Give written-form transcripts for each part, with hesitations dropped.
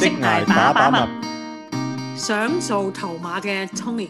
職涯把把脈， 想做頭馬嘅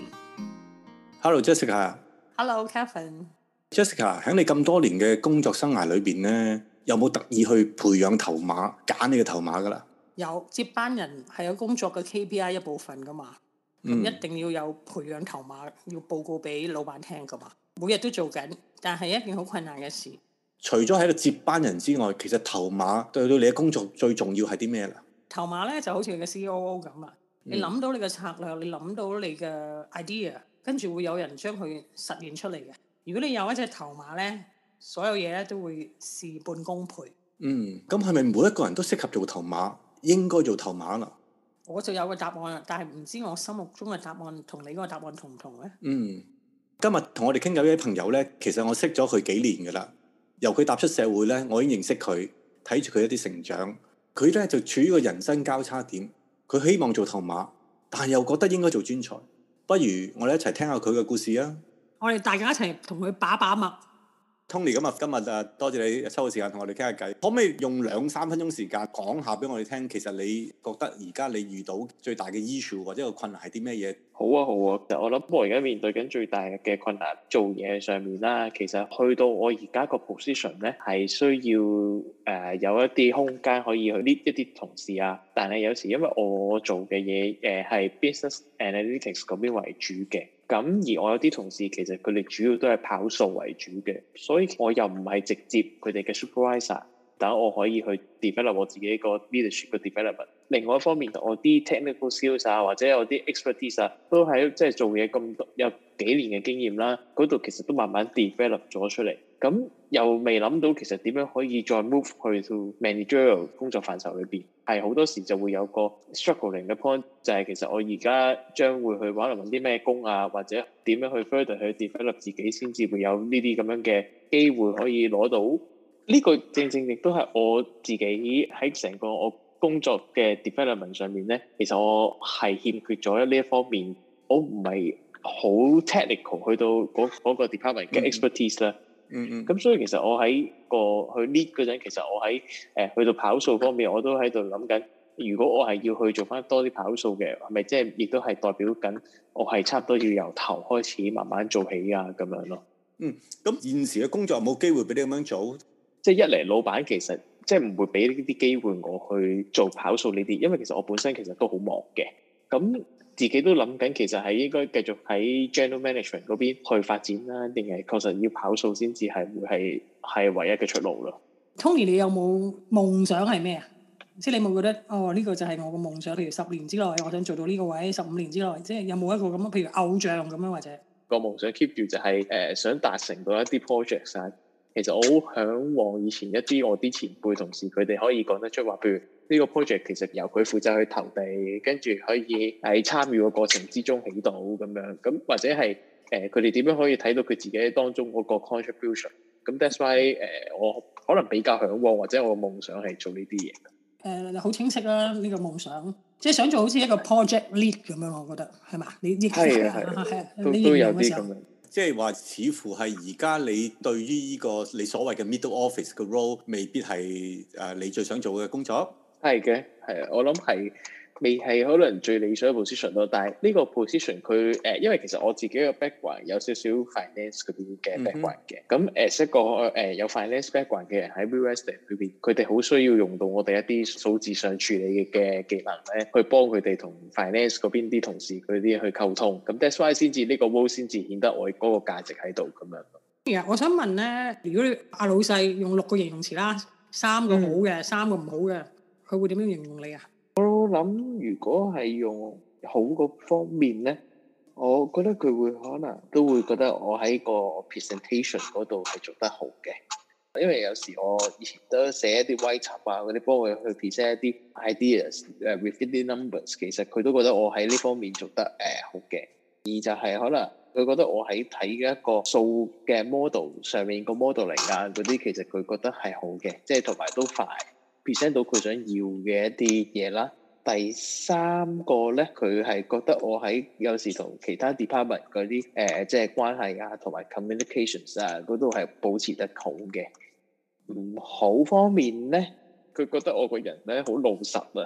Tony。Hello Jessica。Hello Kevin。Jessica 喺你咁多年嘅工作生涯裏邊咧，有冇特意去培養頭馬，揀你嘅頭馬噶啦？ 有，接班人係有工作嘅 KPI 一部分噶嘛，咁一定要有培養頭馬，要報告俾老闆聽噶嘛。每日都做緊，但係一件好困難嘅事。 除咗喺度接班人之外，其實頭馬對到你嘅工作最重要係啲咩啦？ 頭馬咧就好似你嘅 COO 咁啊，你諗到你嘅策略，你諗到你嘅 idea， 跟住會有人將佢實現出嚟嘅。如果你有一隻頭馬咧，所有嘢咧都會事半功倍。 咁係咪每一個人都適合做頭馬？應該做頭馬啦？ 我就有個答案，但係唔知我心目中嘅答案同你嗰個答案同唔同咧？ 今日同我哋傾偈嘅朋友咧，其實我識咗佢幾年噶啦。由佢踏出社會咧，我已經認識佢，睇住佢一啲成長。佢咧就處於個人生交叉點，佢希望做頭馬，但係又覺得應該做專才。不如我哋一齊聽下佢嘅故事啊！ 我哋大家一齊同佢把把脈。 Tony，今日多謝你抽個時間同我哋傾下偈，可唔可以用2-3分鐘時間講下俾我哋聽？其實你覺得而家你遇到最大嘅 issue 或者個困難係啲咩嘢？ 好啊，其實我諗我而家面對緊最大嘅困難，做嘢上面啦，其實去到我而家個 position 咧，係需要有一啲空間可以去 lead 一啲同事啊。但係有時因為我做嘅嘢係 business analytics 嗰邊為主嘅。咁而我有啲同事其實佢哋主要都係跑數為主嘅，所以我又唔係直接佢哋嘅 supervisor， 但我可以去 develop 我自己個 leadership 嘅 development。另外一方面，我啲 technical skills 啊，或者有啲 expertise 啊，都喺即係做嘢咁多有幾年嘅經驗啦，嗰度其實都慢慢 develop 咗出嚟。咁又未諗到其實點樣可以再 move 去到 managerial 工作範疇裏邊，係好多時就會有個 struggling 嘅 point， 就係其實我而家將會去揾啲咩工啊，或者點樣去 further 去 develop 自己，先至會有呢啲咁樣嘅機會可以攞到。呢個正正亦都係我自己喺成個我工作嘅 development 上面咧，其實我係欠缺咗呢一方面，我唔係好 technical 去到嗰個 department 嘅 expertise 啦。咁所以其實我喺個去 lead 嗰陣，其實我喺去到跑數方面，我都喺度諗緊，如果我係要去做翻多啲跑數嘅，係咪即係亦都係代表緊我係差唔多要由頭開始慢慢做起啊咁樣咯。 咁現時嘅工作有冇機會俾你咁樣做？ 即係一嚟老闆其實即係唔會俾呢啲機會我去做跑數呢啲，因為其實我本身其實都好忙嘅。咁自己都諗緊，其實係應該繼續喺 general management 嗰邊去發展啦，定係確實要跑數先至係會係唯一嘅出路咯。 Tony，你有冇夢想係咩啊？即係你冇覺得呢個就係我個夢想？譬如10年之內我想做到呢個位，15年之內，即係有冇一個咁譬如偶像咁樣或者個夢想 keep 住就係想達成到一啲 project 啊。其實我好嚮往以前一啲我啲前輩同事，佢哋可以講得出話，譬如呢個 project 其實由佢負責去投地，跟住可以喺參與個過程之中起到咁樣，咁或者係佢哋點樣可以睇到佢自己當中嗰個 contribution。咁 that's why 我可能比較嚮往，或者我嘅夢想係做呢啲嘢。 好清晰啦，呢個夢想，即係想做好似一個 project lead 咁樣，我覺得係嘛？你係都有啲咁樣。 即係話，似乎係而家你對於呢個你所謂嘅 middle office 嘅 role，未必係你最想做嘅工作。 係嘅，係啊，我諗係未係可能最理想嘅 position 咯。但係呢個 position 佢因為其實我自己嘅 background 有少少 finance 嗰邊嘅 background 嘅。咁一個有 finance background 嘅人喺 real estate 裏邊，佢哋好需要用到我哋一啲數字上處理嘅技能咧，去幫佢哋同 finance 嗰邊啲同事佢啲去溝通。咁 that's why 先至呢個 role 先至顯得我嗰個價值喺度咁樣。 我想問咧，如果阿老細用6個形容詞啦，3個好嘅，3個唔好嘅，佢會點樣形容你啊？ 我諗如果係用好嗰方面咧，我覺得佢會可能都會覺得我喺個 presentation 嗰度係做得好嘅，因為有時我以前都寫一啲 write up 啊嗰啲，幫佢去 present 一啲 ideas with 啲 numbers， 其實佢都覺得我喺呢方面做得好嘅。而就係可能佢覺得我喺睇嘅一個數嘅 model 上面個 modeling 啊嗰啲，其實佢覺得係好嘅，即係同埋都快 present 到佢想要嘅一啲嘢啦。第3個咧，佢係覺得我喺有時同其他 department 嗰啲即係關係啊，同埋 communications 啊嗰度係保持得好嘅。唔好方面咧，佢覺得我個人咧好老實啊，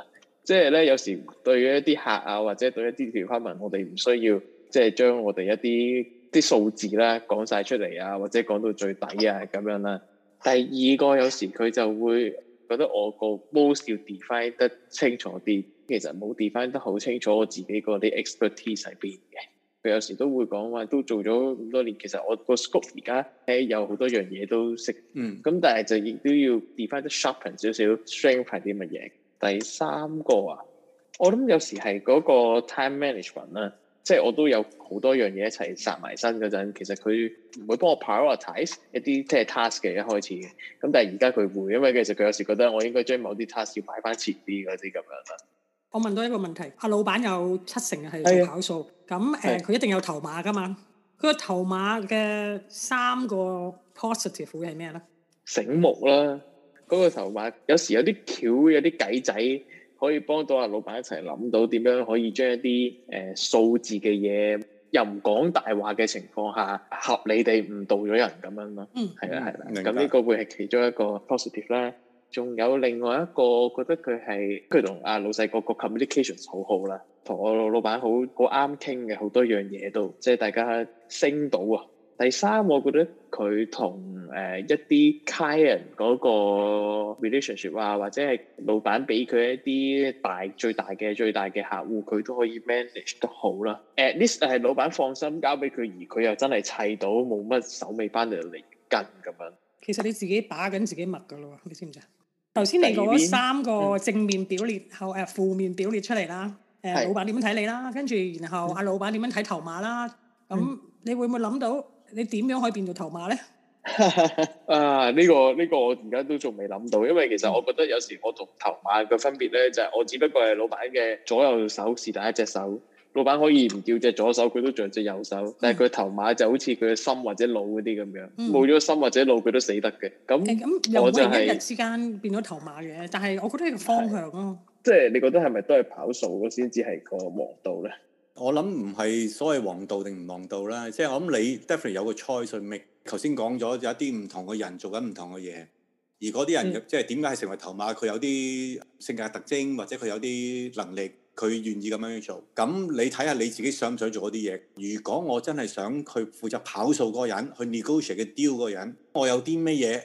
即係咧有時對一啲客啊或者對一啲department，我哋唔需要即係將我哋一啲數字啦講晒出嚟啊，或者講到最底啊咁樣啦。第二個有時佢就會覺得我個 most 要 define 得清楚啲，其實冇 define 得好清楚我自己嗰啲 expertise 喺邊嘅。佢有時都會講話都做咗咁多年，其實我個 scope 而家有好多樣嘢都識，咁但係就亦都要 define 得 sharpen 少少 strength 係啲乜嘢。第三個啊，我諗有時係嗰個 time management 啦，即係我都有好多樣嘢一齊殺埋身嗰陣，其實佢唔會幫我 prioritize 一啲即係 task 嘅一開始嘅，咁但係而家佢會，因為其實佢有時覺得我應該將某啲 task 要擺翻前啲嗰啲咁樣啦。 我問到一個問題，阿老闆有70%係做跑數，咁佢一定有頭馬噶嘛？佢個頭馬嘅3個 positive 會係咩咧？ 醒目啦，嗰個頭馬有時有啲橋有啲計仔可以幫到阿老闆一齊諗到點樣可以將一啲數字嘅嘢又唔講大話嘅情況下合理地誤導咗人咁樣咯。係啦，咁呢個會係其中一個 positive 啦。仲有另外一個，我覺得佢同阿老細個 communications 好好啦，同我老闆好啱傾嘅，好多樣嘢都即係大家升到啊。第三，我覺得佢同一啲 client 嗰個 relationship 啊，或者係老闆俾佢一啲最大嘅客戶，佢都可以 manage 得好啦。At least 係老闆放心交俾佢，而佢又真係砌到冇乜手尾班嚟跟咁樣。 其實你自己把緊自己脈㗎咯，你知唔知啊？頭先你講3個正面表列後負面表列出嚟啦，老闆點樣睇你啦，跟住然後阿老闆點樣睇頭馬啦，咁你會唔會諗到你點樣可以變到頭馬咧？ 啊，呢個我而家都仲未諗到，因為其實我覺得有時我同頭馬嘅分別咧，就係我只不過係老闆嘅左右手是但一隻手。老闆可以唔叫隻左手，佢都仲有隻右手，但係佢頭馬就好似佢嘅心或者腦嗰啲咁樣，冇咗心或者腦佢都死得嘅。咁又唔係一日之間變咗頭馬嘅，但係我覺得係個方向咯。 即係你覺得係咪都係跑數先至係個王道咧？ 我諗唔係所謂王道定唔王道啦，即係我諗你 definitely 有個 choice 去 make。頭先講咗有一啲唔同嘅人做緊唔同嘅嘢，而嗰啲人即係點解係成為頭馬？佢有啲性格特徵或者佢有啲能力。佢願意咁樣做，咁你睇下你自己想唔想做嗰啲嘢？如果我真係想去負責跑數嗰個人，去 negotiate 嘅 deal 嗰個人，我有啲咩嘢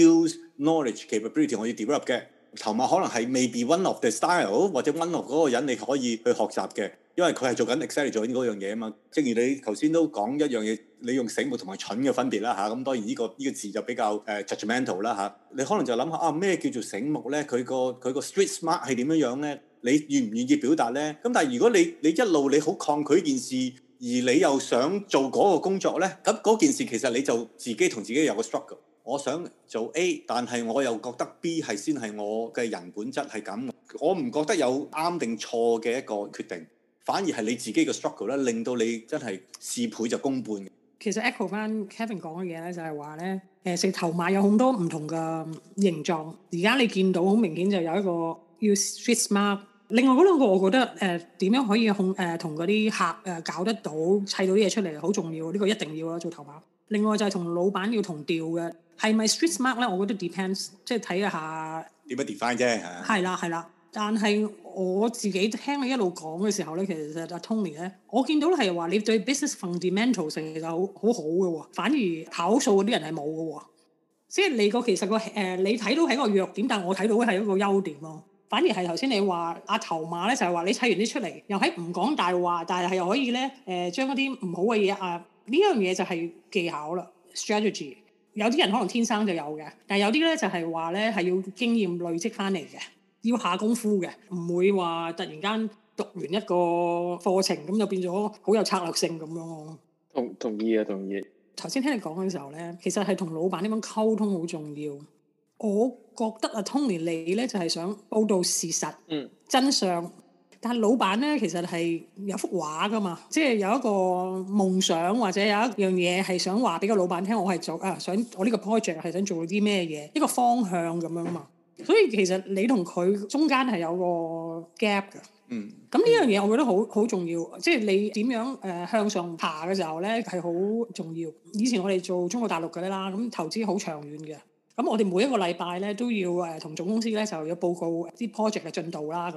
skills、knowledge、capability 我要 develop 嘅，頭馬可能係 maybe one of the style 或者 one of 嗰個人你可以去學習嘅，因為佢係做緊 exactly 做緊嗰樣嘢啊嘛。正如你頭先都講一樣嘢，你用醒目同埋蠢嘅分別啦嚇，咁當然呢個字就比較judgmental 啦嚇。你可能就諗下咩叫做醒目咧？佢個 street smart 係點樣咧？你願唔願意表達呢？咁但係如果你一路你好抗拒件事，而你又想做嗰個工作呢，咁嗰件事其實你就自己同自己有個 struggle。我想做 A，但係我又覺得 B 係先係我嘅人本質係咁。我唔覺得有啱定錯嘅一個決定，反而係你自己嘅 struggle 咧，令到你真係事倍就功半。 其實 echo 翻 Kevin 講嘅嘢咧，就係話咧，食頭馬有好多唔同嘅形狀。而家你見到好明顯就有一個要 street smart。另外嗰兩個，我覺得點樣可以同嗰啲客搞得到砌到啲嘢出嚟，好重要。呢個一定要啦，做頭馬。另外就係同老闆要同調嘅，係咪 street smart 咧？我覺得 depends，即係睇下點樣 define 啫。 係啦，但係我自己聽你一路講嘅時候咧，其實阿 Tony 咧，我見到係話你對 business fundamentals 其實好好嘅喎，反而跑數嗰啲人係冇嘅喎。即係你其實你睇到係一個弱點，但係我睇到係一個優點咯。反而係頭先你話阿頭馬咧，就係話你砌完啲出嚟，又喺唔講大話，但係又可以咧將嗰啲唔好嘅嘢呢樣嘢就係技巧啦 strategy。有啲人可能天生就有嘅，但係有啲咧就係話咧係要經驗累積翻嚟嘅，要下功夫嘅，唔會話突然間讀完一個課程咁就變咗好有策略性咁樣咯。 同意。 頭先聽你講嘅時候咧，其實係同老闆點樣溝通好重要。我覺得Tony 你咧就係想報導事實、真相，但係老闆咧其實係有幅畫噶嘛，即係有一個夢想或者有一樣嘢係想話俾個老闆聽，我係做想我呢個 project 係想做啲咩嘢，一個方向咁樣嘛。所以其實你同佢中間係有個 gap 嘅。咁呢樣嘢我覺得好重要，即係你點樣向上爬嘅時候咧係好重要。以前我哋做中國大陸嘅啦，咁投資好長遠嘅。咁我哋每一個禮拜咧都要同總公司咧就要報告啲 project 嘅進度啦咁樣。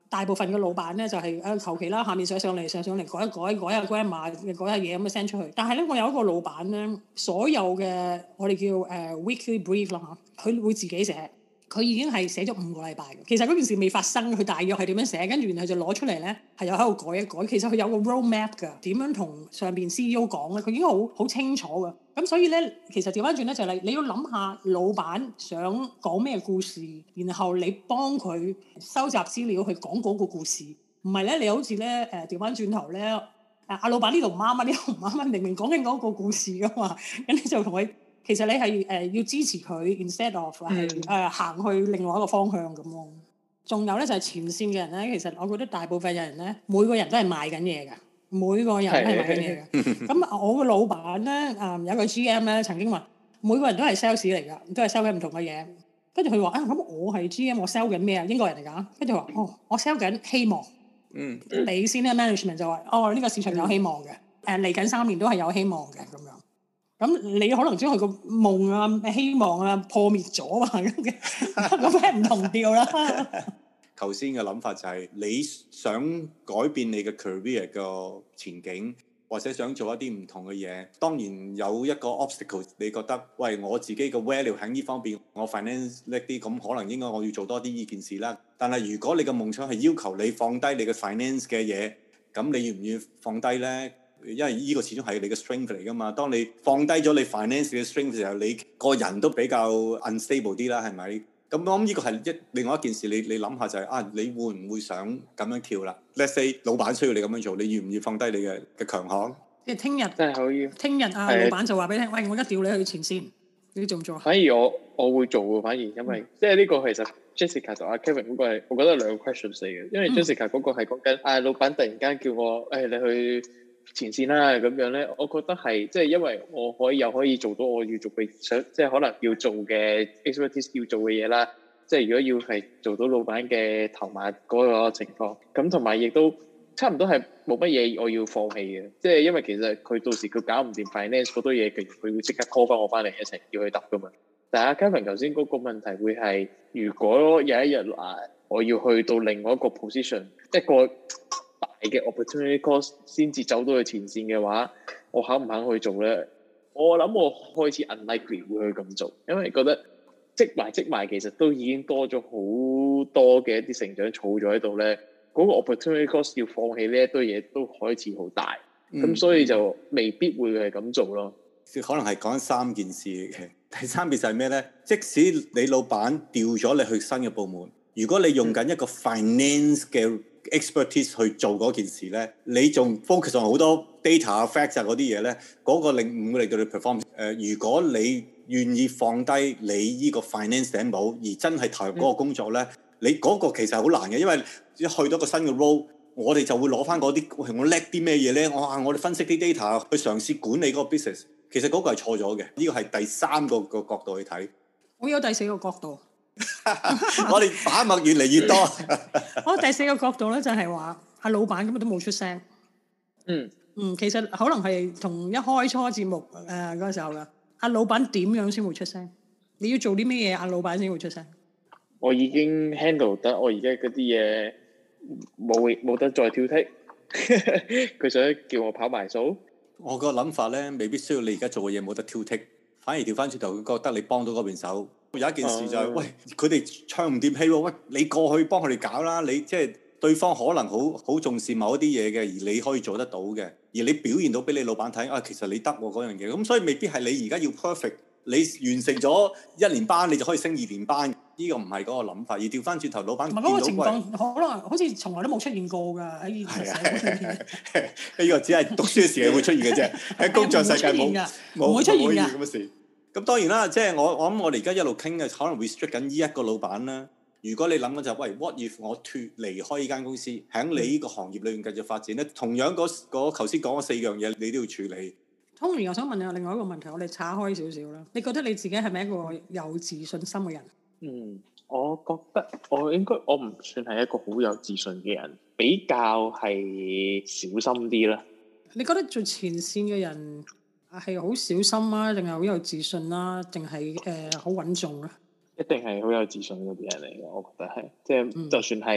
大部分嘅老闆咧就係求其啦，下面上嚟改一改下 grammar 改下嘢咁樣 send 出去。但係咧，我有一個老闆咧，所有嘅我哋叫weekly brief 啦嚇，佢會自己寫。佢已經係寫咗5個禮拜嘅。其實嗰件事未發生，佢大約係點樣寫，跟住然後就攞出嚟咧，係又喺度改一改。其實佢有個 road map 㗎，點樣同上邊 CEO 講咧，佢已經好清楚㗎。咁所以咧，其實調翻轉咧就係你要諗下老闆想講咩故事，然後你幫佢收集資料去講嗰個故事。唔係咧，你好似咧調翻轉頭咧，阿老闆呢度唔啱啊，呢度唔啱啊，明明講緊嗰個故事㗎嘛，咁你就同佢。其實你係要支持佢 instead of 係行去另外一個方向咁咯。仲有咧就係前線嘅人咧，其實我覺得大部分嘅人咧，每個人都係賣緊嘢㗎，每個人都係賣緊嘢㗎。咁我個老闆咧有個 GM 咧曾經話，每個人都係 sales 嚟㗎，都係 sell 緊唔同嘅嘢。跟住佢話咁我係 GM，我 sell 緊咩啊？英國人嚟㗎。跟住話我 sell 緊希望。你先咧 management 就話呢個市場有希望嘅，嚟緊3年都係有希望嘅咁樣。咁你可能將佢個夢啊、希望啊破滅咗啊，咁係唔同調啦。 頭先嘅諗法就係你想改變你嘅 career 個前景，或者想做一啲唔同嘅嘢。當然有一個 obstacle，你覺得喂我自己嘅 value 喺呢方面，我 finance 叻啲，咁可能應該我要做多啲呢件事啦。但係如果你嘅夢想係要求你放低你嘅 finance 嘅嘢，咁你願唔願意放低呢？因為呢個始終係你嘅 strength 嚟㗎嘛。當你放低咗你 finance 嘅 strength 嘅時候，你個人都比較 unstable 啲啦，係咪？咁我諗呢個係另外一件事，你諗下就係你會唔會想咁樣跳啦 ？Let's say 老闆需要你咁樣做，你願唔願放低你嘅強項？ 即係聽日， 真係可以。 聽日老闆就話俾你聽，喂，我而家調你去前線，你做唔做啊？ 反而我會做喎，反而因為即係呢個其實 Jessica 同阿 Kevin 嗰個係，我覺得兩個 questions 嚟嘅。因為 Jessica 嗰個係講緊老闆突然間叫我你去前線啦咁樣咧，我覺得係即係因為我可以做到我要做嘅即係可能要做嘅 expertise 要做嘅嘢啦。即係如果要係做到老闆嘅頭馬嗰個情況，咁同埋亦都差唔多係冇乜嘢我要放棄嘅。即係因為其實佢到時佢搞唔掂 finance 好多嘢，佢會即刻 call 翻我翻嚟一齊要去揼噶嘛。但係阿 Kevin 頭先嗰個問題會係，如果有一日我要去到另外一個 position， 一個大嘅 opportunity cost 先至走到去前線嘅話，我肯唔肯去做咧？我諗我開始 unlikely 會去咁做，因為覺得積埋其實都已經多咗好多嘅一啲成長儲咗喺度咧，嗰個 opportunity cost 要放棄呢一堆嘢都開始好大，咁所以就未必會係咁做咯。 可能係講3件事嘅。第3件就係咩咧？即使你老闆調咗你去新嘅部門，如果你用緊一個 finance 嘅 expertise 去做嗰件事咧，你仲 focus on 好多 data facts 嗰啲嘢咧，嗰個唔會令到你 perform。如果你願意放低你呢個 finance 頂帽，而真係投入嗰個工作咧，你嗰個其實好難嘅，因為一去到個新嘅 role，我哋就會攞翻嗰啲我叻啲咩嘢咧？我哋分析啲 data 去嘗試管理嗰個 business，其實嗰個係錯咗嘅。呢個係第3個角度去睇。 我有第4個角度。 我哋把脈越嚟越多。 我第4個角度咧就係話，阿老闆根本都冇出聲。其實可能係同一開初節目嗰個時候㗎。阿老闆點樣先會出聲？你要做啲咩嘢？阿老闆先會出聲。我已經 handle 得，我而家嗰啲嘢冇得再挑剔。佢想叫我跑埋數。 我個諗法咧，未必需要你而家做嘅嘢冇得挑剔，反而調翻轉頭，佢覺得你幫到嗰邊手。有一件事就係，喂，佢哋唱唔掂戲喎，喂，你過去幫佢哋搞啦。你即係對方可能好重視某一啲嘢嘅，而你可以做得到嘅，而你表現到俾你老闆睇，其實你得喎嗰樣嘢。咁所以未必係你而家要 perfect，你完成咗1年班，你就可以升2年班。呢個唔係嗰個諗法，而調翻轉頭，老闆見到嗰個情況， 可能好似從來都冇出現過㗎喺現實社會裏面。 呢個只係讀書嘅時候會出現嘅啫，喺工作世界冇會出現㗎。 咁嘅事。咁當然啦，即係我諗我哋而家一路傾嘅，可能 restrict 緊呢一個老闆啦。如果你諗緊就係，喂 ，what if 我離開呢間公司，喺你呢個行業裏面繼續發展咧？同樣嗰頭先講嗰4樣嘢，你都要處理。 Tony，我想問你另外一個問題，我哋岔開少少啦。你覺得你自己係咪一個有自信心嘅人？ 我覺得我唔算係一個好有自信嘅人，比較係小心啲啦。 你覺得做前線嘅人係好小心啊，定係好有自信啦，定係好穩重啊？ 一定係好有自信嗰啲人嚟嘅，我覺得係，即係就算係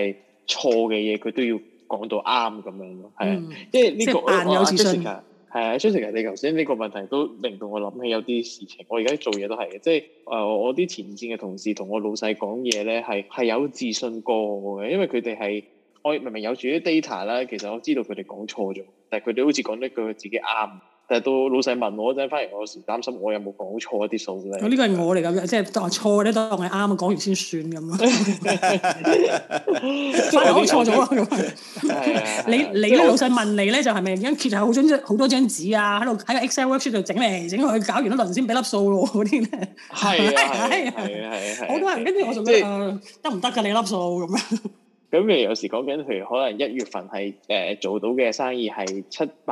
錯嘅嘢佢都要講到啱咁樣咯，係啊， 即係扮有自信。 係啊，Jessica，你頭先呢個問題都令到我諗起有啲事情。我而家做嘢都係嘅，即係我啲前線嘅同事同我老細講嘢咧，係有自信過我嘅，因為佢哋係我明明有住啲 data 啦，其實我知道佢哋講錯咗，但係佢哋好似講得句自己啱。但係到老細問我嗰陣，反而我有時擔心我有冇講錯一啲數咧。 呢個係我嚟㗎，即係當錯咧，當係啱，講完先算咁咯。反而我錯咗啊！咁你咧老細問你咧，就係咪其實好多張紙啊，喺個 Excel worksheet 度整嚟整去，搞完一輪先俾粒數咯嗰啲咧。係好多人跟住我仲覺得得唔得㗎？你粒數咁樣。 咁你有時講緊，譬如可能1月份係做到嘅生意係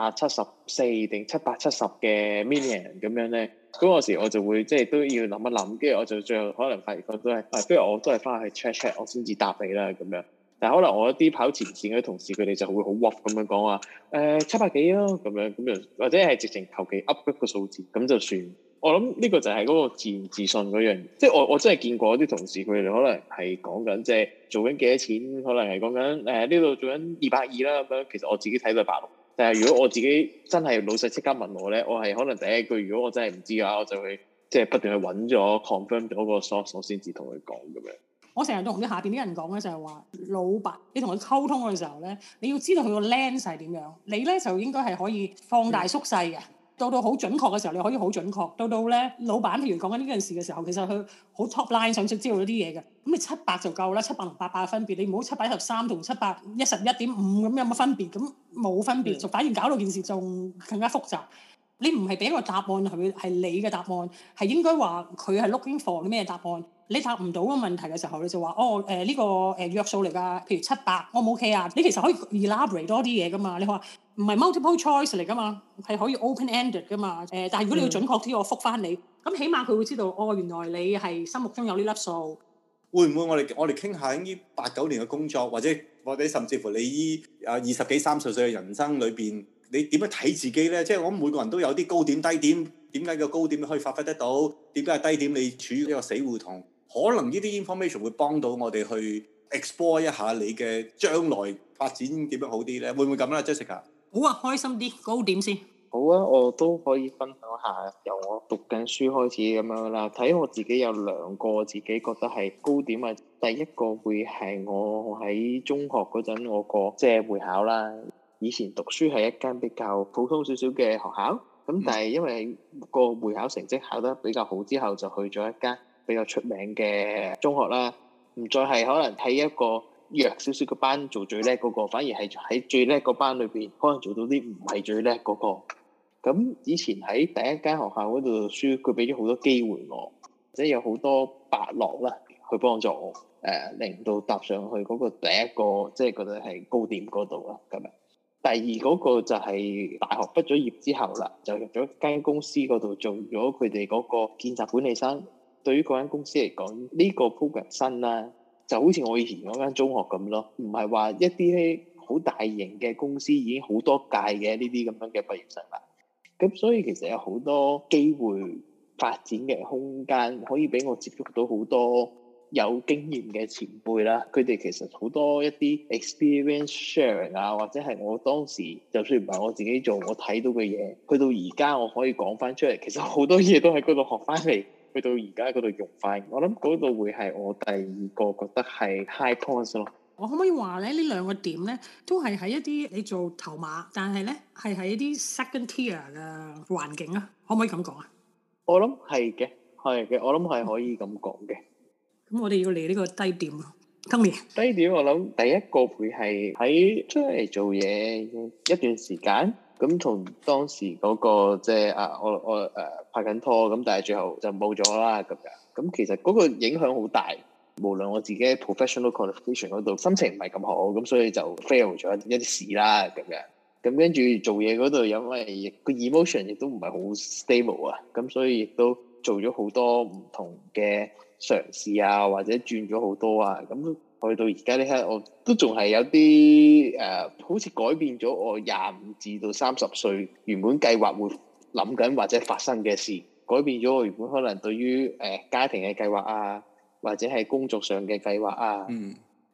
774定770嘅 million 咁樣咧，嗰個時我就會即係都要諗一諗，跟住我就最後可能發現都係，不如我都係翻去 check 我先至答你啦咁樣。但係可能我一啲跑前線嘅同事，佢哋就會好 rough 咁樣講話700幾咯咁樣，咁就或者係直情求其 up 一個數字咁就算。我諗呢個就係嗰個自然自信嗰樣，即係我真係見過啲同事，佢哋可能係講緊即係做緊幾多錢，可能係講緊呢度做緊220啦咁樣。其實我自己睇到係160，但係如果我自己真係老細即刻問我咧，我係可能第一句，如果我真係唔知嘅話，我就會即係不斷去揾咗 confirm 咗個 source，我先至同佢講咁樣。我成日都同啲下邊啲人講咧，就係話老闆，你同佢溝通嘅時候咧，你要知道佢個 lens 係點樣，你咧就應該係可以放大縮細嘅。到好準確嘅時候，你可以好準確。到咧，老闆譬如講緊呢件事嘅時候，其實佢好 top line 想知道一啲嘢嘅。咁你700就夠啦，700同800嘅分別，你唔好713同711.5咁有乜分別？咁冇分別，就反而搞到件事仲更加複雜。你唔係俾一個答案佢，係你嘅答案，係應該話佢係 looking for 啲咩答案？你答唔到個問題嘅時候，你就話呢個約數嚟㗎，譬如700，我唔 OK啊？你其實可以 elaborate 多啲嘢㗎嘛？你話唔係 multiple choice 嚟㗎嘛？係可以 open ended 㗎嘛？但係如果你要準確啲，我覆返你，咁起碼佢會知道原來你係心目中有呢粒數。 會唔會我哋傾下呢8、9年嘅工作，或者甚至乎你依20幾30歲嘅人生裏邊，你點樣睇自己咧？即係我諗每個人都有啲高點低點，點解個高點可以發揮得到？點解係低點你處於一個死胡同？可能呢啲 information 會幫到我哋去 explore 一下你嘅將來發展點樣好啲咧？會唔會咁啦 Jessica？ 好啊，開心啲，高點先。 好啊，我都可以分享下由我讀緊書開始咁樣啦。睇我自己有2個自己覺得係高點啊。第一個會係我喺中學嗰陣我個即係會考啦。以前讀書係一間比較普通少少嘅學校，咁但係因為個會考成績考得比較好之後，就去咗一間比較出名嘅中學啦。唔再係可能喺一個弱少少嘅班做最叻嗰個，反而係喺最叻個班裏邊，可能做到啲唔係最叻嗰個。咁以前喺第一間學校嗰度讀書，佢俾咗好多機會我，即係有好多伯樂啦，去幫助我，令到踏上去嗰個第一個，即係覺得係高點嗰度啦。咁樣，第二嗰個就係大學畢咗業之後啦，就入咗間公司嗰度做咗佢哋嗰個見習管理生。對於嗰間公司嚟講，呢個 program 新啦，就好似我以前嗰間中學咁咯，唔係話一啲好大型嘅公司已經好多屆嘅呢啲咁樣嘅畢業生啦。咁所以其實有好多機會發展嘅空間，可以俾我接觸到好多有經驗嘅前輩啦。佢哋其實好多一啲 experience sharing 啊，或者係我當時就算唔係我自己做，我睇到嘅嘢，去到而家我可以講翻出嚟。其實好多嘢都喺嗰度學翻嚟，去到而家嗰度用翻。我諗嗰度會係我第二個覺得係 high points 咯。 我可唔可以話咧？呢2個點咧，都係喺一啲你做頭馬，但係咧係喺一啲 second tier 嘅環境啊？可唔可以咁講啊？我諗係嘅， 係嘅，我諗係可以咁講嘅。 咁我哋要嚟呢個低點啊，今年低點我諗第一個會係喺出嚟做嘢一段時間，咁同當時嗰個即係我拍緊拖，咁但係最後就冇咗啦咁樣。咁其實嗰個影響好大。無論我自己 professional qualification 嗰度心情唔係咁好，咁所以就 fail 咗一啲事啦咁樣。咁跟住做嘢嗰度，因為個 emotion 亦都唔係好 stable 啊，咁所以亦都做咗好多唔同嘅嘗試啊，或者轉咗好多啊。咁去到而家呢刻，我都仲係有啲好似改變咗我25至到30歲原本計劃會諗緊或者發生嘅事，改變咗我原本可能對於家庭嘅計劃啊，或者係工作上嘅計劃啊，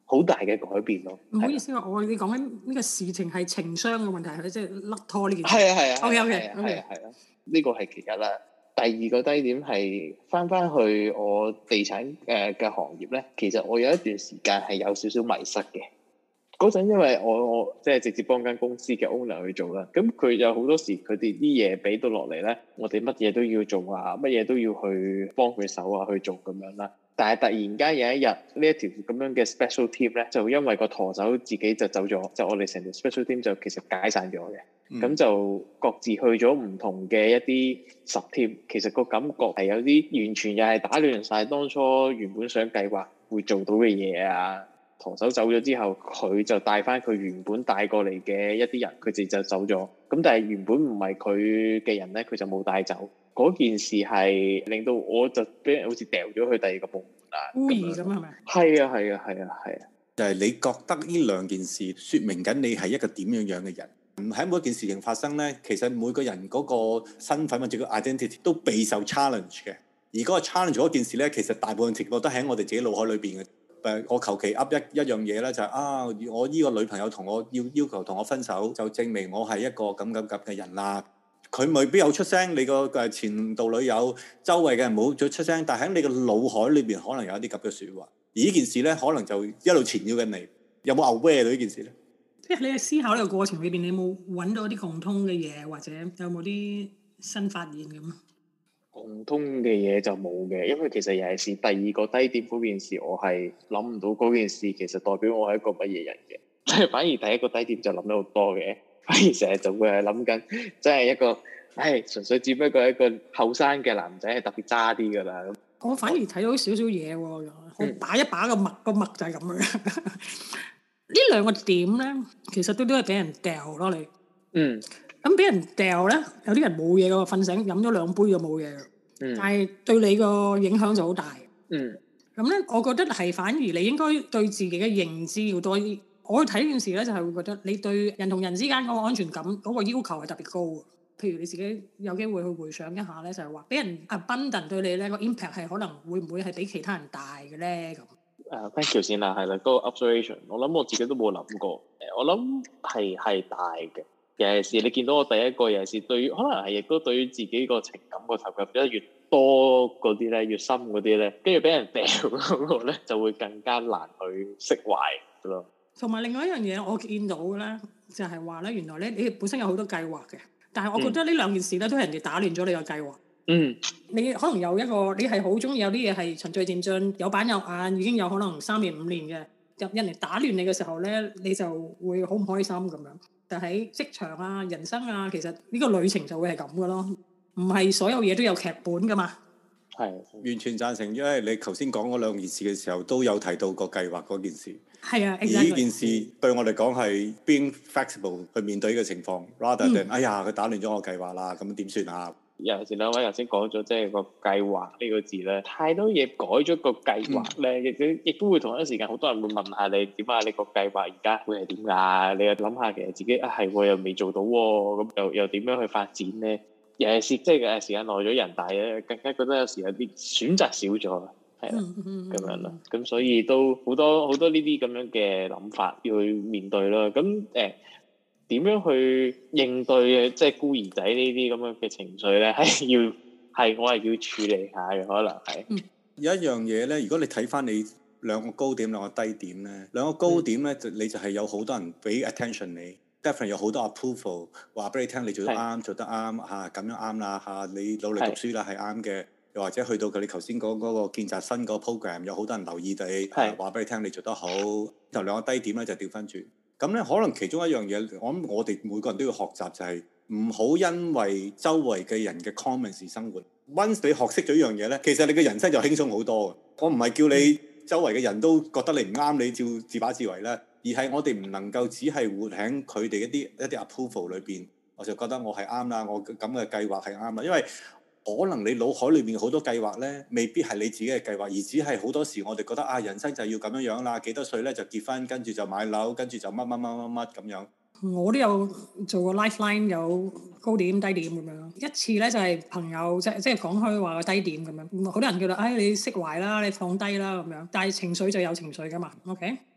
好大嘅改變咯。 唔好意思，你講緊呢個事情係情商嘅問題，係咪即係甩拖呢件事？ 係啊 OK， 係啊，呢個係其一啦。第二個低點係翻去我地產嘅行業咧，其實我有一段時間係有少少迷失嘅。嗰陣因為我即係直接幫間公司嘅 owner 去做啦，咁佢有好多時佢哋啲嘢俾到落嚟咧，我哋乜嘢都要做啊，乜嘢都要去幫佢手啊去做咁樣啦。但係突然間有一日呢一條咁樣嘅 special team 咧，就因為個舵手自己就走咗，就我哋成條 special team 就其實解散咗嘅。咁就各自去咗唔同嘅一啲 sub team，其實個感覺係有啲完全又係打亂晒當初原本想計劃會做到嘅嘢啊。舵手走咗之後，佢就帶翻佢原本帶過嚟嘅一啲人，佢哋就走咗。咁但係原本唔係佢嘅人咧，佢就冇帶走。嗰件事係令到我就俾人好似掉咗去第二個部門啦。 孤兒咁係咪？ 係啊。 就係你覺得呢兩件事説明緊你係一個點樣嘅人？唔喺每一件事情發生咧，其實每個人嗰個身份或者個 identity 都備受 challenge 嘅。而嗰個 challenge 嗰件事咧，其實大部分情況都喺我哋自己腦海裏邊嘅。我求其噏一樣嘢咧，就係我依個女朋友同我要求同我分手，就證明我係一個咁嘅人啦。佢未必有出聲，你個前度女友周圍嘅人冇再出聲，但喺你個腦海裏邊可能有一啲咁嘅説話。而呢件事咧，可能就一路纏繞緊你。有冇 aware 到呢件事咧？ 即係你喺思考呢個過程裏邊，你有冇揾到啲共通嘅嘢，或者有冇啲新發現咁啊？ 共通嘅嘢就冇嘅，因為其實尤其是第二個低點嗰件事，我係諗唔到嗰件事其實代表我係一個乜嘢人嘅，即係反而第一個低點就諗得好多嘅，反而成日就會係諗緊，即係一個，純粹只不過係一個後生嘅男仔係特別渣啲㗎啦。 我反而睇到少少嘢喎，我把一把個脈就係咁樣。呢兩個點咧，其實都係俾人掉咯你。咁俾人掉咧，有啲人冇嘢㗎，瞓醒飲咗2杯就冇嘢㗎。但係對你個影響就好大。咁咧，我覺得係反而你應該對自己嘅認知要多啲。我去睇呢件事咧，就係會覺得你對人同人之間嗰個安全感嗰個要求係特別高嘅。譬如你自己有機會去回想一下咧，就係話俾人 abundant 對你咧個 impact 係可能會唔會係比其他人大嘅咧咁。 thank you 先啦，係啦，嗰個 observation， 我諗我自己都冇諗過。我諗係大嘅。尤其是你見到我第一個，尤其是對於可能係亦都對於自己個情感個投入得越多嗰啲咧，越深嗰啲咧，跟住俾人掉嗰個咧，就會更加難去釋懷咯。同埋另外一樣嘢，我見到嘅咧，就係話咧，原來咧你本身有好多計劃嘅，但係我覺得呢兩件事咧都係人哋打亂咗你個計劃。你可能有一個你係好中意有啲嘢係循序漸進，有板有眼，已經有可能3年5年嘅，人哋打亂你嘅時候咧，你就會好唔開心咁樣。但喺職場啊、人生啊，其實呢個旅程就會係咁嘅咯，唔係所有嘢都有劇本噶嘛。 係完全贊成，因為你頭先講嗰兩件事嘅時候，都有提到個計劃嗰件事。係啊，而呢件事對我嚟講係 being flexible 去面對呢個情況，rather than 哎呀佢打亂咗我計劃啦，咁點算啊？ 尤其是兩位頭先講咗，即係個計劃呢個字咧，太多嘢改咗個計劃咧，亦都會同一時間好多人會問下你點啊？你個計劃而家會係點㗎？你又諗下其實自己係又未做到喎，咁又點樣去發展咧？尤其是即係時間耐咗人大咧，更加覺得有時有啲選擇少咗，係啦，咁樣咯。咁所以都好多呢啲咁樣嘅諗法要去面對咯。咁點樣去應對即係孤兒仔呢啲咁樣嘅情緒咧？我係要處理下嘅，可能係。 有一樣嘢咧，如果你睇翻你兩個高點兩個低點咧，兩個高點咧你就係有好多人俾 attention 你，definitely 有好多 approval 話俾你聽，你做得啱，做得啱嚇，咁樣啱啦嚇，你努力讀書啦係啱嘅，又或者去到你頭先講嗰個見習生嗰個 program，有好多人留意你，話俾你聽你做得好。就兩個低點咧就調翻轉。咁咧，可能其中一樣嘢，我諗我哋每個人都要學習，就係唔好因為周圍嘅人嘅 comments 而生活。Once 你學識咗一樣嘢咧，其實你嘅人生就輕鬆好多嘅。我唔係叫你周圍嘅人都覺得你唔啱，你照自把自為咧，而係我哋唔能夠只係活喺佢哋一啲 approval 裏邊，我就覺得我係啱啦，我咁嘅計劃係啱啦，因為可能你腦海裏面好多計劃咧，未必係你自己嘅計劃，而只係好多時我哋覺得人生就係要咁樣啦，幾多歲咧就結婚，跟住就買樓，跟住就乜咁樣。我都有做過 lifeline， 有高點低點咁樣。一次咧就係朋友即係講開話個低點咁樣，好多人叫你釋懷啦，你放低啦咁樣，但係情緒就有情緒噶嘛 ，OK？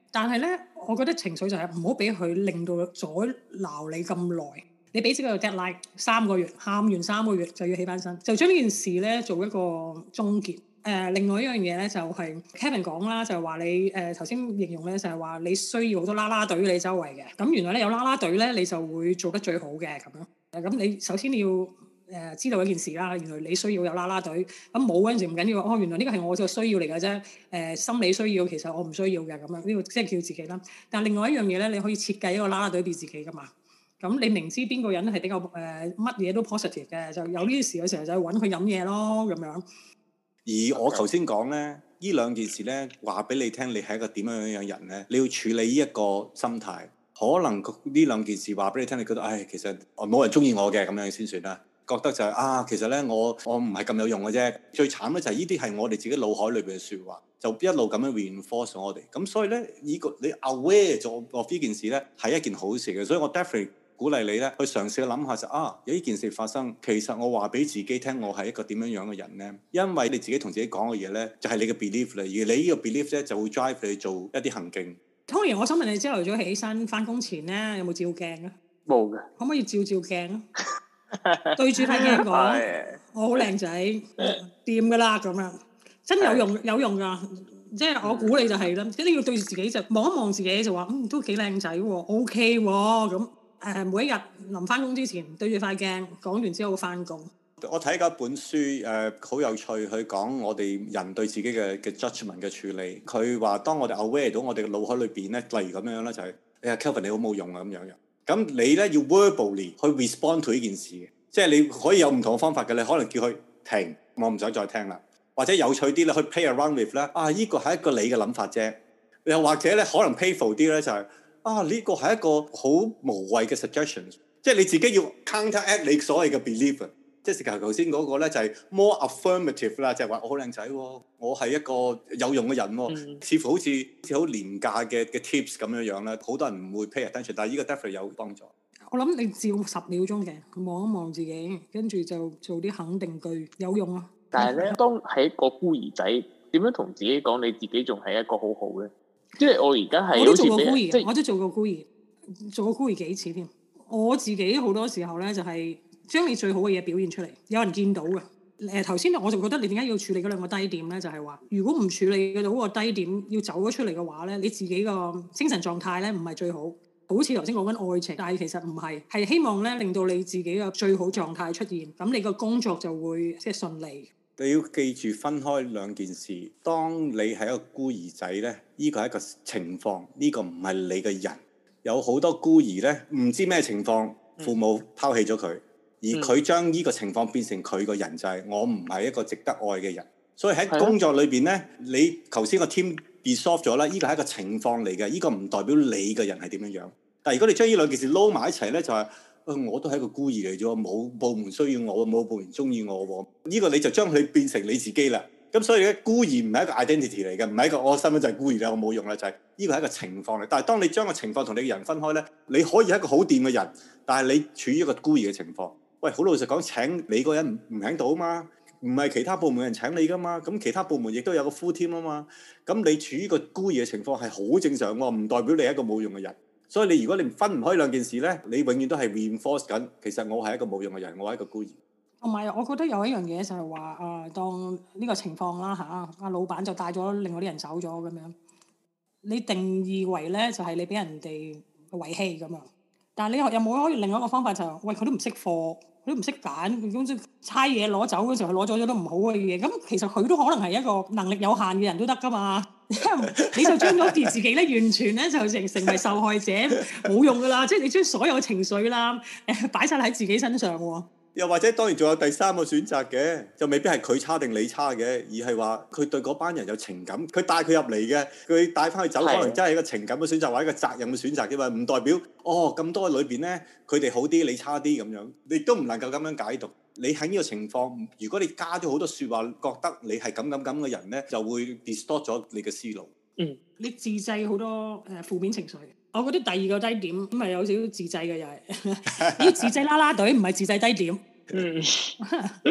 但係咧，我覺得情緒就係唔好俾佢令到阻撓你咁耐。你俾自己個 deadline 3個月，喊完3個月就要起翻身，就將呢件事咧做一個終結。另外一樣嘢咧就係 Kevin 講啦，就係話你頭先形容咧就係話你需要好多啦啦隊你周圍嘅，咁原來咧有啦啦隊咧你就會做得最好嘅咁樣。咁你首先你要知道一件事啦，原來你需要有啦啦隊，咁冇嗰陣時唔緊要，哦原來呢個係我嘅需要嚟嘅啫，心理需要其實我唔需要嘅咁樣，呢個即係叫自己啦。但另外一樣嘢咧，你可以設計一個啦啦隊俾自己噶嘛。咁你明知邊個人係比較乜嘢都 positive 嘅，就有呢啲事嘅時候就去揾佢飲嘢咯咁樣。 而我頭先講咧，呢兩件事咧話俾你聽，你係一個點樣樣人咧，你要處理呢一個心態。可能呢兩件事話俾你聽，你覺得唉，其實冇人中意我嘅咁樣先算啦。覺得就係其實咧我唔係咁有用嘅啫。最慘咧就係呢啲係我哋自己腦海裏邊嘅説話，就一路咁樣 reinforce 我哋。咁所以咧，你 aware 咗呢件事咧係一件好事嘅。所以我 definitely鼓勵你咧去嘗試去諗下就有呢件事發生，其實我話俾自己聽，我係一個點樣樣嘅人咧？因為你自己同自己講嘅嘢咧，就係你嘅 belief 啦。而你呢個 belief 咧就會 drive 你做一啲行徑。 Tony，我想問你朝頭早起身翻工前咧，有冇照鏡啊？ 冇嘅。 可唔可以照鏡啊？對住塊鏡講，我好靚仔，掂㗎啦咁樣，真有用㗎。即係我估你就係啦，一定要對住自己就望一望自己就話，都幾靚仔喎 ，OK 喎咁。每一日臨翻工之前對住塊鏡講完之後翻工。 我睇過一本書好有趣，佢講我哋人對自己嘅 judgment 嘅處理。佢話當我哋 aware 到我哋嘅腦海裏邊咧，例如咁樣啦，就係Kelvin 你好冇用啊咁樣樣。咁你咧要 verbally 去 respond to 呢件事嘅，即係你可以有唔同嘅方法嘅。你可能叫佢停，我唔想再聽啦。或者有趣啲咧，去 play around with 咧，呢個係一個你嘅諗法啫。又或者咧，可能 playful 啲咧，就係呢個係一個好無謂嘅 suggestion， 即係你自己要 counteract 你所謂嘅 belief。即係頭先嗰個咧就係 more affirmative 啦，就係話我好靚仔喎，我係一個有用嘅人喎，似乎好似好廉價嘅 tips 咁樣樣啦，好多人唔會 pay attention，但係呢個 definitely 有幫助。 我諗你照10秒鐘嘅望一望自己，跟住就做啲肯定句，有用啊！ 但係咧，當係一個孤兒仔，點樣同自己講你自己仲係一個好好嘅？即係我而家係我都做過孤兒， 即係我都做過孤兒，做過孤兒幾次添。我自己好多時候咧就係將你最好嘅嘢表現出嚟，有人見到嘅。頭先我就覺得你點解要處理嗰兩個低點咧？就係話，如果唔處理到嗰個低點，要走咗出嚟嘅話咧，你自己個精神狀態咧唔係最好。好似頭先講緊愛情，但係其實唔係，係希望咧令到你自己嘅最好狀態出現，咁你個工作就會即係順利。 你要記住分開兩件事。當你係一個孤兒仔咧，呢個係一個情況，呢個唔係你嘅人。有好多孤兒咧，唔知咩情況，父母拋棄咗佢，而佢將呢個情況變成佢個人，就係我唔係一個值得愛嘅人。所以喺工作裏邊咧，你頭先個 team resolve 咗啦，呢個係一個情況嚟嘅，呢個唔代表你嘅人係點樣樣。但係如果你將呢兩件事撈埋一齊咧，就係我都係一個孤兒嚟啫，冇部門需要我，冇部門中意我喎。呢個你就將佢變成你自己啦。咁所以咧，孤兒唔係一個 identity 嚟嘅，唔係一個我身份就係孤兒啦，我冇用啦，就係呢個係一個情況嚟。但係當你將個情況同你嘅人分開咧，你可以係一個好掂嘅人，但係你處於一個孤兒嘅情況。喂，好老實講，請你個人唔喺度啊嘛，唔係其他部門人請你噶嘛，咁其他部門亦都有個 full team 啊嘛，咁你處於個孤兒嘅情況係好正常喎，唔代表你係一個冇用嘅人。所以你如果你分唔開兩件事咧，你永遠都係 reinforce 緊，其實我係一個冇用嘅人，我係一個孤兒。 同埋我覺得有一樣嘢就係話當呢個情況啦阿老闆就帶咗另外啲人走咗咁樣，你定義為咧就係你俾人哋遺棄咁樣，但係你有冇可以另外一個方法就係喂佢都唔識貨，佢都唔識揀，咁即係差嘢攞走嗰時候，佢攞咗都唔好嘅嘢，咁其實佢都可能係一個能力有限嘅人都得噶嘛。你就將嗰件自己咧完全咧就成為受害者，冇用噶啦，即係你將所有情緒啦擺晒喺自己身上喎。 又或者當然仲有第三個選擇嘅，就未必係佢差定你差嘅，而係話佢對嗰班人有情感，佢帶佢入嚟嘅，佢帶翻去走，可能真係一個情感嘅選擇或者一個責任嘅選擇啫嘛，唔代表咁多裏邊咧佢哋好啲，你差啲咁樣，你都唔能夠咁樣解讀。你喺呢個情況，如果你加咗好多説話，覺得你係咁嘅人咧，就會 distort 咗你嘅思路。 你自製好多負面情緒。我覺得第二個低點咁係有少少自製嘅又係，要自製啦啦隊，唔係自製低點。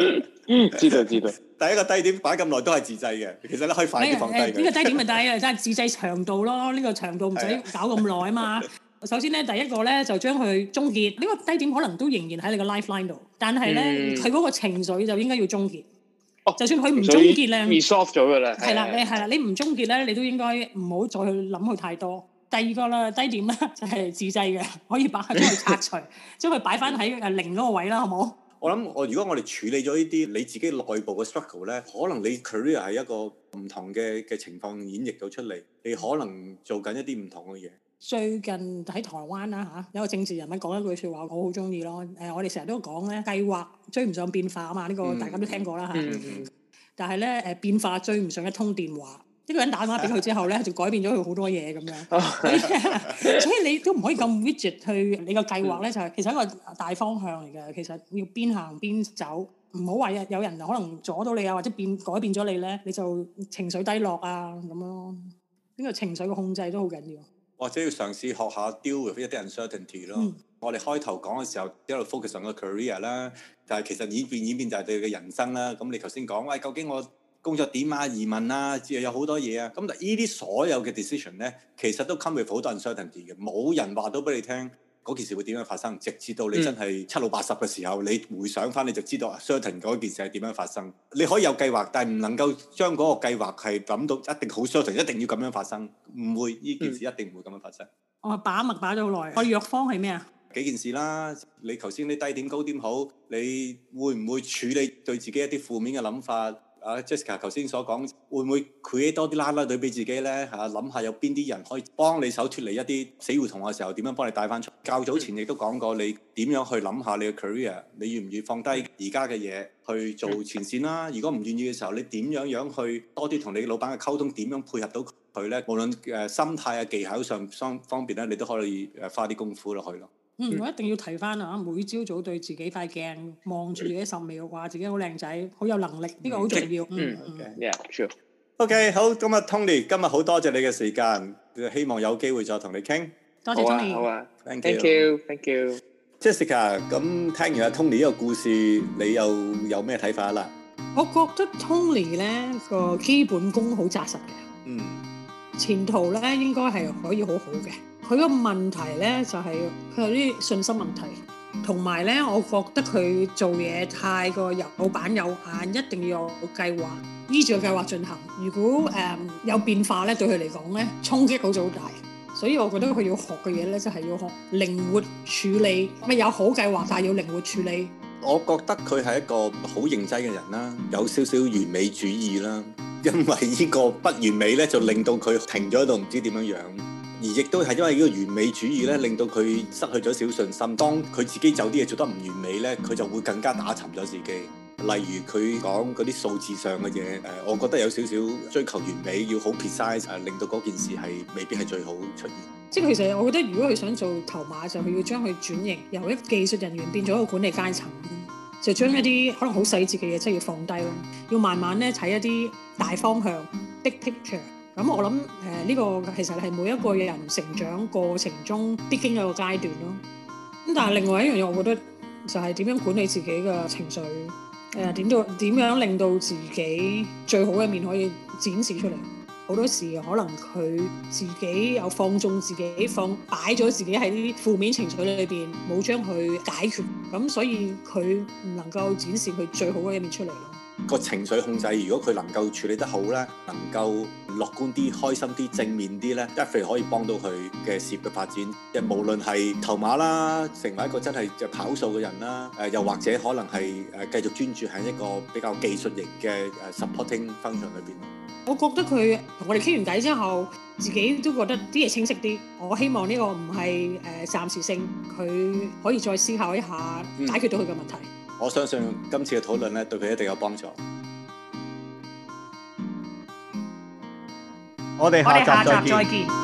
知道知道。 第一個低點擺咁耐都係自製嘅，其實咧可以快啲放低佢。 呢個低點咪低啊，即係自製長度咯。呢個長度唔使搞咁耐啊嘛。首先咧，第一個咧就將佢終結。呢個低點可能都仍然喺你個 lifeline 度，但係咧佢嗰個情緒就應該要終結。就算佢唔終結咧 resolve 咗㗎啦。 係啦，你唔終結咧，你都應該唔好再去諗佢太多。第二個啦，低點咧就係自製嘅，可以將佢拆除，將佢擺翻喺零嗰個位啦，好冇？ 我諗如果我哋處理咗呢啲你自己內部嘅 struggle 咧，可能你 career 係一個唔同嘅情況演繹到出嚟，你可能做緊一啲唔同嘅嘢。 最近喺台灣啦有個政治人物講一句説話，我好中意咯。我哋成日都講咧，計劃追唔上變化啊嘛，呢個大家都聽過啦但係咧變化追唔上一通電話。一個人打電話俾佢之後咧，就改變咗佢好多嘢咁樣。所以你都唔可以咁 rigid 去你個計劃咧，就係其實一個大方向嚟嘅。其實要邊行邊走，唔好話有人可能阻到你啊，或者改變咗你咧，你就情緒低落啊咁咯。呢個情緒嘅控制都好緊要。 或者要嘗試學下 deal with 一啲 uncertainty 咯。我哋開頭講嘅時候一路 focus on 個 career 啦，但係其實演變就係對你嘅人生啦。咁你頭先講喂，究竟我工作點啊、移民啊，之後有好多嘢啊。咁但係呢啲所有嘅 decision 咧，其實都 come with 好多 uncertainty 嘅，冇人話到俾你聽嗰件事會點樣發生，直至到你真係七老八十嘅時候，你回想翻你就知道 certain 嗰件事係點樣發生。你可以有計劃，但係唔能夠將嗰個計劃係諗到一定好 certain，一定要咁樣發生，唔會呢件事一定唔會咁樣發生。 我把脈把咗好耐，我藥方係咩啊？ 幾件事啦，你頭先啲低點高點好，你會唔會處理對自己一啲負面嘅諗法？Jessica 頭先所講，會唔會 create 多啲啦啦隊俾自己咧？諗下有邊啲人可以幫你手脱離一啲死胡同嘅時候，點樣幫你帶翻出？較早前亦都講過，你點樣去諗下你嘅 career？你願唔願意放低而家嘅嘢去做前線啦？如果唔願意嘅時候，你點樣去多啲同你老闆嘅溝通？點樣配合到佢咧？無論心態啊技巧上方面咧，你都可以花啲功夫落去咯。 我一定要提翻啊！每朝早對自己塊鏡望住自己10秒，話自己好靚仔，好有能力，呢個好重要。 Yeah, sure. OK， 好，今日 Tony，今日好多謝你嘅時間，希望有機會再同你傾。 多謝 Tony。 好啊 ，Thank you。 Jessica， 咁聽完阿 Tony 呢個故事，你又有咩睇法啦？ 我覺得 Tony 咧個基本功好紮實嘅，前途咧應該係可以好好嘅。佢個問題咧就係佢有啲信心問題，同埋咧我覺得佢做嘢太過有板有眼，一定要有計劃，依住個計劃進行。如果有變化咧，對佢嚟講咧衝擊好大，所以我覺得佢要學嘅嘢咧就係要學靈活處理，咪有好計劃，但係要靈活處理。 我覺得佢係一個好認真嘅人啦，有少少完美主義啦，因為呢個不完美咧就令到佢停咗喺度，唔知點樣樣。而亦都係因為呢個完美主義咧，令到佢失去咗少信心。當佢自己有啲嘢做得唔完美咧，佢就會更加打沉咗自己。例如佢講嗰啲數字上嘅嘢，我覺得有少少追求完美，要好 precise，令到嗰件事係未必係最好出現。 即係其實我覺得，如果佢想做頭馬，就佢要將佢轉型，由一技術人員變咗一個管理階層，就將一啲可能好細節嘅嘢，即係要放低咯，要慢慢咧睇一啲大方向 big picture。咁我諗呢個其實係每一個人成長過程中必經嘅一個階段咯。咁但係另外一樣嘢，我覺得就係點樣管理自己嘅情緒，點樣令到自己最好嘅面可以展示出嚟。好多時可能佢自己有放縱自己，擺咗自己喺啲負面情緒裏邊，冇將佢解決，咁所以佢唔能夠展示佢最好嘅一面出嚟咯。 個情緒控制，如果佢能夠處理得好咧，能夠樂觀啲、開心啲、正面啲咧，一定可以幫到佢嘅事業嘅發展。即係無論係頭馬啦，成為一個真係就跑數嘅人啦，又或者可能係繼續專注喺一個比較技術型嘅supporting function 裏邊。 我覺得佢同我哋傾完偈之後，自己都覺得啲嘢清晰啲。我希望呢個唔係暫時性，佢可以再思考一下，解決到佢嘅問題。 我相信今次嘅討論咧，對佢一定有幫助。我哋下集再見。